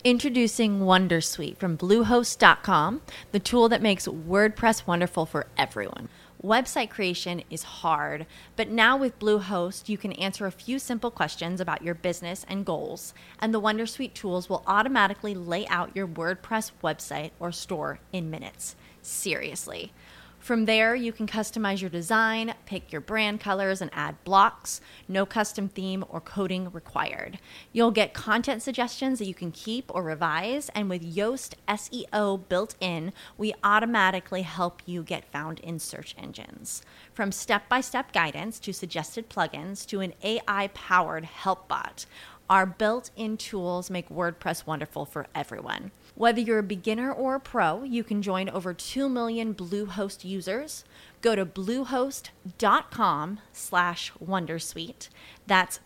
Introducing Wondersuite from Bluehost.com, the tool that makes WordPress wonderful for everyone. Website creation is hard, but now with Bluehost, you can answer a few simple questions about your business and goals, and the Wondersuite tools will automatically lay out your WordPress website or store in minutes. Seriously. From there, you can customize your design, pick your brand colors, and add blocks. No custom theme or coding required. You'll get content suggestions that you can keep or revise, and with Yoast SEO built in, we automatically help you get found in search engines. From step-by-step guidance to suggested plugins to an AI-powered help bot, our built-in tools make WordPress wonderful for everyone. Whether you're a beginner or a pro, you can join over 2 million Bluehost users. Go to bluehost.com/wondersuite. That's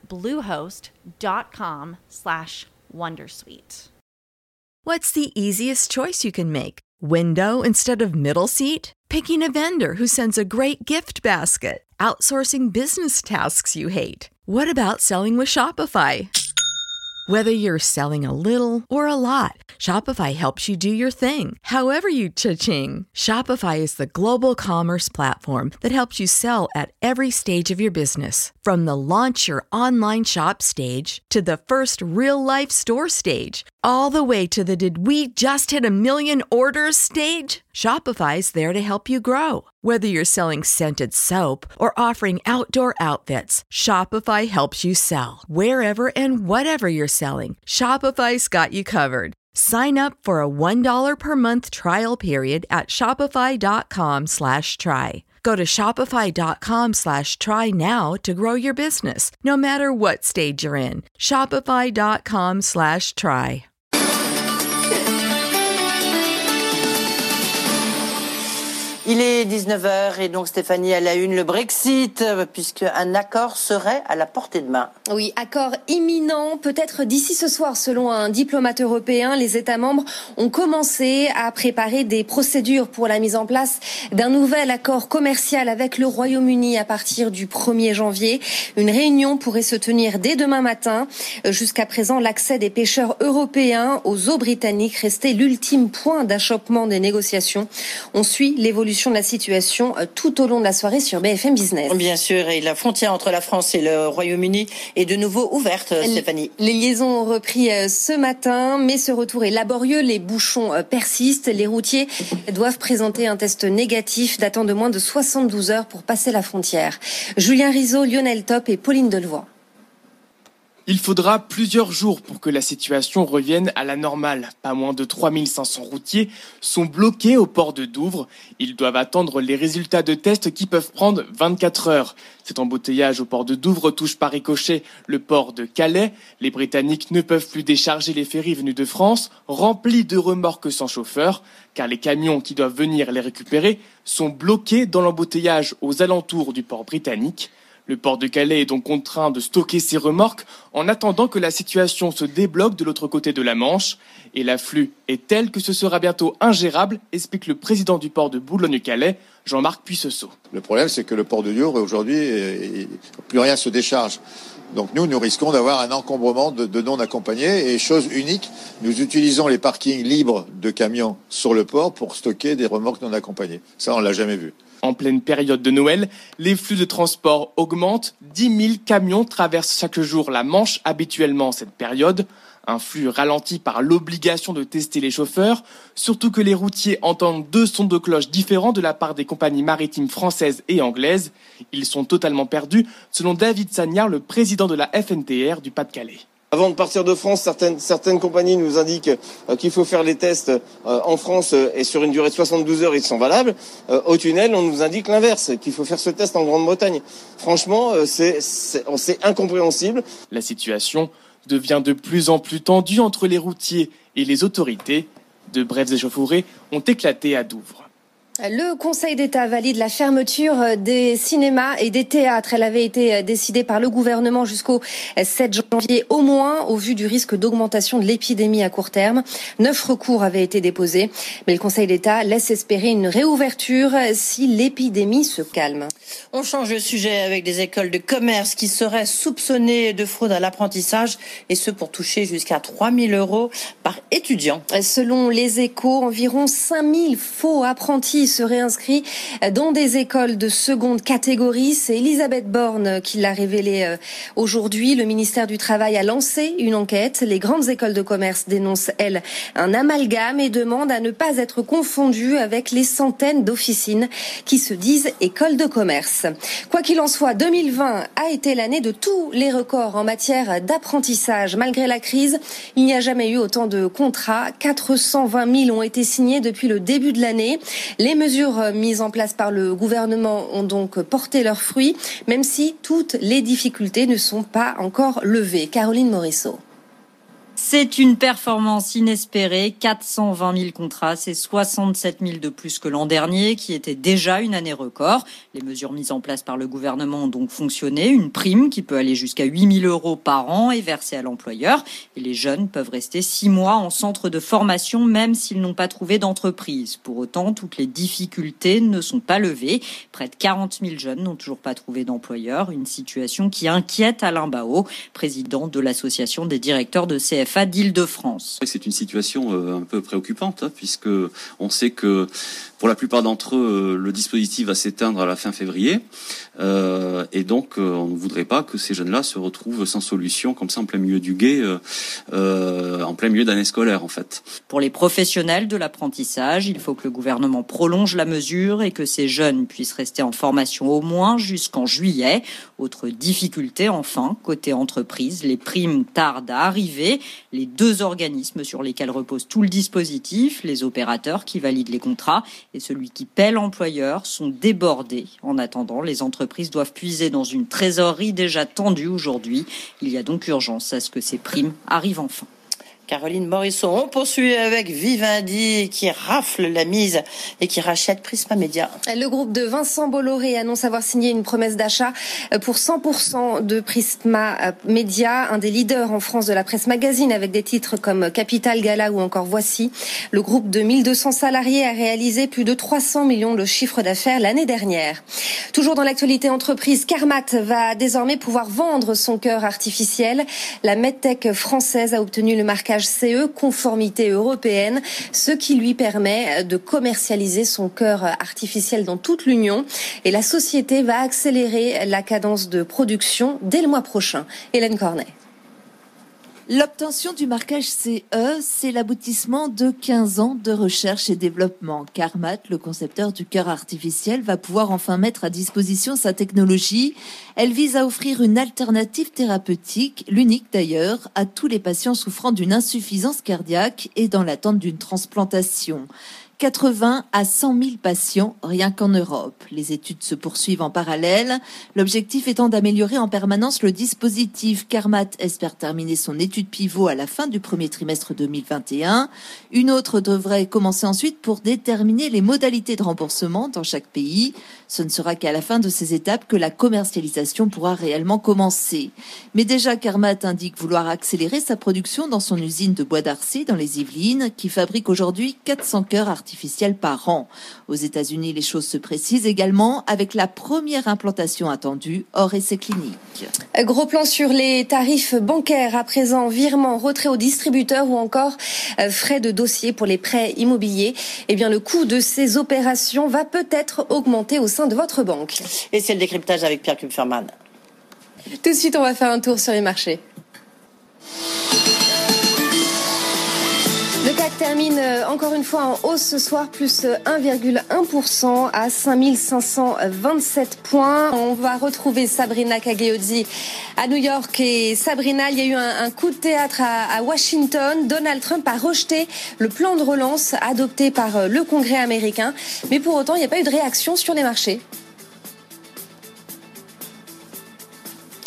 bluehost.com/wondersuite. What's the easiest choice you can make? Window instead of middle seat? Picking a vendor who sends a great gift basket? Outsourcing business tasks you hate? What about selling with Shopify? Whether you're selling a little or a lot, Shopify helps you do your thing, however you cha-ching. Shopify is the global commerce platform that helps you sell at every stage of your business. From the launch your online shop stage to the first real-life store stage, all the way to the did we just hit a million orders stage? Shopify's there to help you grow. Whether you're selling scented soap or offering outdoor outfits, Shopify helps you sell. Wherever and whatever you're selling, Shopify's got you covered. Sign up for a $1 per month trial period at shopify.com/try. Go to shopify.com/try now to grow your business, no matter what stage you're in. Shopify.com/try. Il est 19h et donc Stéphanie à la une, le Brexit, puisque un accord serait à la portée de main. Oui, accord imminent, peut-être d'ici ce soir, selon un diplomate européen. Les États membres ont commencé à préparer des procédures pour la mise en place d'un nouvel accord commercial avec le Royaume-Uni à partir du 1er janvier. Une réunion pourrait se tenir dès demain matin. Jusqu'à présent, l'accès des pêcheurs européens aux eaux britanniques restait l'ultime point d'achoppement des négociations. On suit l'évolution de la situation tout au long de la soirée sur BFM Business. Bien sûr, et la frontière entre la France et le Royaume-Uni est de nouveau ouverte, Stéphanie. Les liaisons ont repris ce matin, mais ce retour est laborieux. Les bouchons persistent. Les routiers doivent présenter un test négatif datant de moins de 72 heures pour passer la frontière. Julien Rizzo, Lionel Top et Pauline Delevoye. Il faudra plusieurs jours pour que la situation revienne à la normale. Pas moins de 3500 routiers sont bloqués au port de Douvres. Ils doivent attendre les résultats de tests qui peuvent prendre 24 heures. Cet embouteillage au port de Douvres touche par ricochet le port de Calais. Les Britanniques ne peuvent plus décharger les ferries venus de France, remplis de remorques sans chauffeur, car les camions qui doivent venir les récupérer sont bloqués dans l'embouteillage aux alentours du port britannique. Le port de Calais est donc contraint de stocker ses remorques en attendant que la situation se débloque de l'autre côté de la Manche. Et l'afflux est tel que ce sera bientôt ingérable, explique le président du port de Boulogne-Calais, Jean-Marc Puisseau. Le problème, c'est que le port de Douvres, aujourd'hui, plus rien se décharge. Donc nous risquons d'avoir un encombrement de non accompagnés. Et chose unique, nous utilisons les parkings libres de camions sur le port pour stocker des remorques non accompagnées. Ça, on l'a jamais vu. En pleine période de Noël, les flux de transport augmentent. 10 000 camions traversent chaque jour la Manche habituellement en cette période. Un flux ralenti par l'obligation de tester les chauffeurs, surtout que les routiers entendent 2 sons de cloche différents de la part des compagnies maritimes françaises et anglaises. Ils sont totalement perdus, selon David Sagnard, le président de la FNTR du Pas-de-Calais. Avant de partir de France, certaines compagnies nous indiquent qu'il faut faire les tests en France et sur une durée de 72 heures, ils sont valables. Au tunnel, on nous indique l'inverse, qu'il faut faire ce test en Grande-Bretagne. Franchement, c'est incompréhensible. La situation devient de plus en plus tendue entre les routiers et les autorités. De brèves échauffourées ont éclaté à Douvres. Le Conseil d'État valide la fermeture des cinémas et des théâtres. Elle avait été décidée par le gouvernement jusqu'au 7 janvier au moins, au vu du risque d'augmentation de l'épidémie à court terme. 9 recours avaient été déposés, mais le Conseil d'État laisse espérer une réouverture si l'épidémie se calme. On change de sujet avec des écoles de commerce qui seraient soupçonnées de fraude à l'apprentissage, et ce pour toucher jusqu'à 3 000 € par étudiant. Selon les Échos, environ 5 000 faux apprentis seraient inscrits dans des écoles de seconde catégorie. C'est Elisabeth Borne qui l'a révélé aujourd'hui. Le ministère du Travail a lancé une enquête. Les grandes écoles de commerce dénoncent, elles, un amalgame et demandent à ne pas être confondues avec les centaines d'officines qui se disent écoles de commerce. Quoi qu'il en soit, 2020 a été l'année de tous les records en matière d'apprentissage. Malgré la crise, il n'y a jamais eu autant de contrats. 420 000 ont été signés depuis le début de l'année. Les mesures mises en place par le gouvernement ont donc porté leurs fruits, même si toutes les difficultés ne sont pas encore levées. Caroline Morisseau. C'est une performance inespérée, 420 000 contrats, c'est 67 000 de plus que l'an dernier, qui était déjà une année record. Les mesures mises en place par le gouvernement ont donc fonctionné. Une prime qui peut aller jusqu'à 8 000 € par an est versée à l'employeur. Et les jeunes peuvent rester 6 mois en centre de formation, même s'ils n'ont pas trouvé d'entreprise. Pour autant, toutes les difficultés ne sont pas levées. Près de 40 000 jeunes n'ont toujours pas trouvé d'employeur. Une situation qui inquiète Alain Baot, président de l'association des directeurs de CFA d'Île-de-France. C'est une situation un peu préoccupante, puisque on sait que pour la plupart d'entre eux, le dispositif va s'éteindre à la fin février. Et donc, on ne voudrait pas que ces jeunes-là se retrouvent sans solution, comme ça, en plein milieu du gué, en plein milieu d'année scolaire, en fait. Pour les professionnels de l'apprentissage, il faut que le gouvernement prolonge la mesure et que ces jeunes puissent rester en formation au moins jusqu'en juillet. Autre difficulté, enfin, côté entreprise, les primes tardent à arriver. Les deux organismes sur lesquels repose tout le dispositif, les opérateurs qui valident les contrats et celui qui paie l'employeur, sont débordés. En attendant, les entreprises doivent puiser dans une trésorerie déjà tendue aujourd'hui. Il y a donc urgence à ce que ces primes arrivent enfin. Caroline Morisseau, on poursuit avec Vivendi qui rafle la mise et qui rachète Prisma Media. Le groupe de Vincent Bolloré annonce avoir signé une promesse d'achat pour 100% de Prisma Media, un des leaders en France de la presse magazine avec des titres comme Capital, Gala ou encore Voici. Le groupe de 1200 salariés a réalisé plus de 300 millions de chiffre d'affaires l'année dernière. Toujours dans l'actualité entreprise, Carmat va désormais pouvoir vendre son cœur artificiel. La medtech française a obtenu le marquage CE, conformité européenne, ce qui lui permet de commercialiser son cœur artificiel dans toute l'Union. Et la société va accélérer la cadence de production dès le mois prochain. Hélène Cornet. L'obtention du marquage CE, c'est l'aboutissement de 15 ans de recherche et développement. Carmat, le concepteur du cœur artificiel, va pouvoir enfin mettre à disposition sa technologie. Elle vise à offrir une alternative thérapeutique, l'unique d'ailleurs, à tous les patients souffrant d'une insuffisance cardiaque et dans l'attente d'une transplantation. 80 à 100 000 patients rien qu'en Europe. Les études se poursuivent en parallèle, l'objectif étant d'améliorer en permanence le dispositif. Carmat espère terminer son étude pivot à la fin du premier trimestre 2021. Une autre devrait commencer ensuite pour déterminer les modalités de remboursement dans chaque pays. Ce ne sera qu'à la fin de ces étapes que la commercialisation pourra réellement commencer. Mais déjà, Carmat indique vouloir accélérer sa production dans son usine de Bois d'Arcy dans les Yvelines, qui fabrique aujourd'hui 400 cœurs artificiels par an. Aux États-Unis, les choses se précisent également avec la première implantation attendue hors essai clinique. Gros plan sur les tarifs bancaires à présent, virement, retrait aux distributeurs ou encore frais de dossier pour les prêts immobiliers. Eh bien, le coût de ces opérations va peut-être augmenter au sein de votre banque. Et c'est le décryptage avec Pierre Kupferman. Tout de suite, on va faire un tour sur les marchés. Le CAC termine encore une fois en hausse ce soir, plus 1,1% à 5527 points. On va retrouver Sabrina Cagliozzi à New York. Et Sabrina, il y a eu un coup de théâtre à Washington. Donald Trump a rejeté le plan de relance adopté par le Congrès américain. Mais pour autant, il n'y a pas eu de réaction sur les marchés.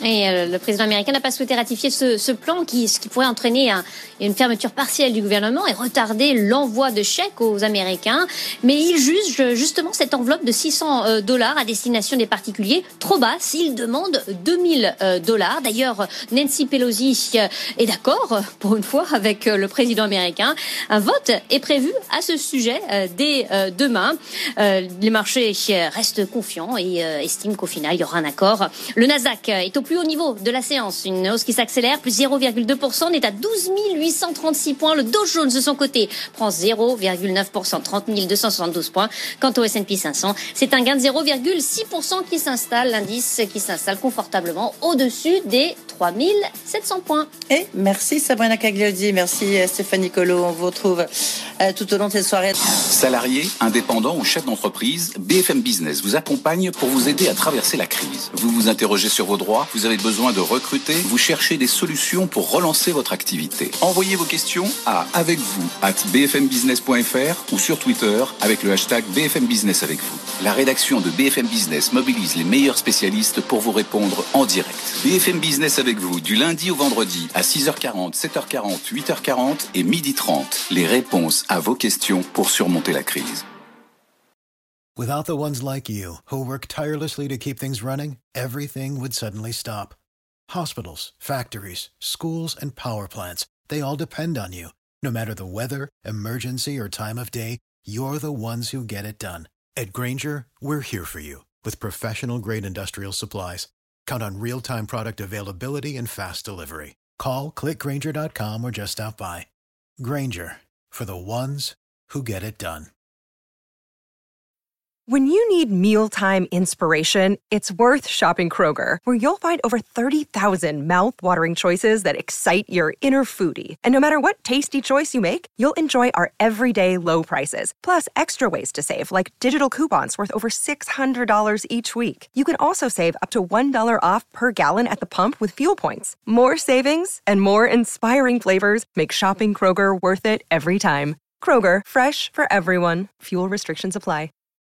Et le président américain n'a pas souhaité ratifier ce plan ce qui pourrait entraîner une fermeture partielle du gouvernement et retarder l'envoi de chèques aux Américains. Mais il juge justement cette enveloppe de $600 à destination des particuliers trop basse. Il demande $2,000. D'ailleurs, Nancy Pelosi est d'accord pour une fois avec le président américain. Un vote est prévu à ce sujet dès demain. Les marchés restent confiants et estiment qu'au final, il y aura un accord. Le Nasdaq est au plus haut niveau de la séance. Une hausse qui s'accélère, plus 0,2%. On est à 12 836 points. Le Dow Jones, de son côté, prend 0,9%, 30 272 points. Quant au S&P 500, c'est un gain de 0,6% qui s'installe. L'indice qui s'installe confortablement au-dessus des 3 700 points. Et merci Sabrina Cagliodi, merci Stéphanie Colo. On vous retrouve tout au long de cette soirée. Salariés, indépendants ou chefs d'entreprise, BFM Business vous accompagne pour vous aider à traverser la crise. Vous vous interrogez sur vos droits, vous avez besoin de recruter, vous cherchez des solutions pour relancer votre activité. Envoyez vos questions à avecvous@bfmbusiness.fr ou sur Twitter avec le hashtag BFM Business avec vous. La rédaction de BFM Business mobilise les meilleurs spécialistes pour vous répondre en direct. BFM Business avec vous du lundi au vendredi à 6h40, 7h40, 8h40 et 12h30. Les réponses à vos questions pour surmonter la crise. Without the ones like you, who work tirelessly to keep things running, everything would suddenly stop. Hospitals, factories, schools, and power plants, they all depend on you. No matter the weather, emergency, or time of day, you're the ones who get it done. At Grainger, we're here for you with professional-grade industrial supplies. Count on real-time product availability and fast delivery. Call, click Grainger.com, or just stop by. Grainger, for the ones who get it done. When you need mealtime inspiration, it's worth shopping Kroger, where you'll find over 30,000 mouth-watering choices that excite your inner foodie. And no matter what tasty choice you make, you'll enjoy our everyday low prices, plus extra ways to save, like digital coupons worth over $600 each week. You can also save up to $1 off per gallon at the pump with fuel points. More savings and more inspiring flavors make shopping Kroger worth it every time. Kroger, fresh for everyone. Fuel restrictions apply.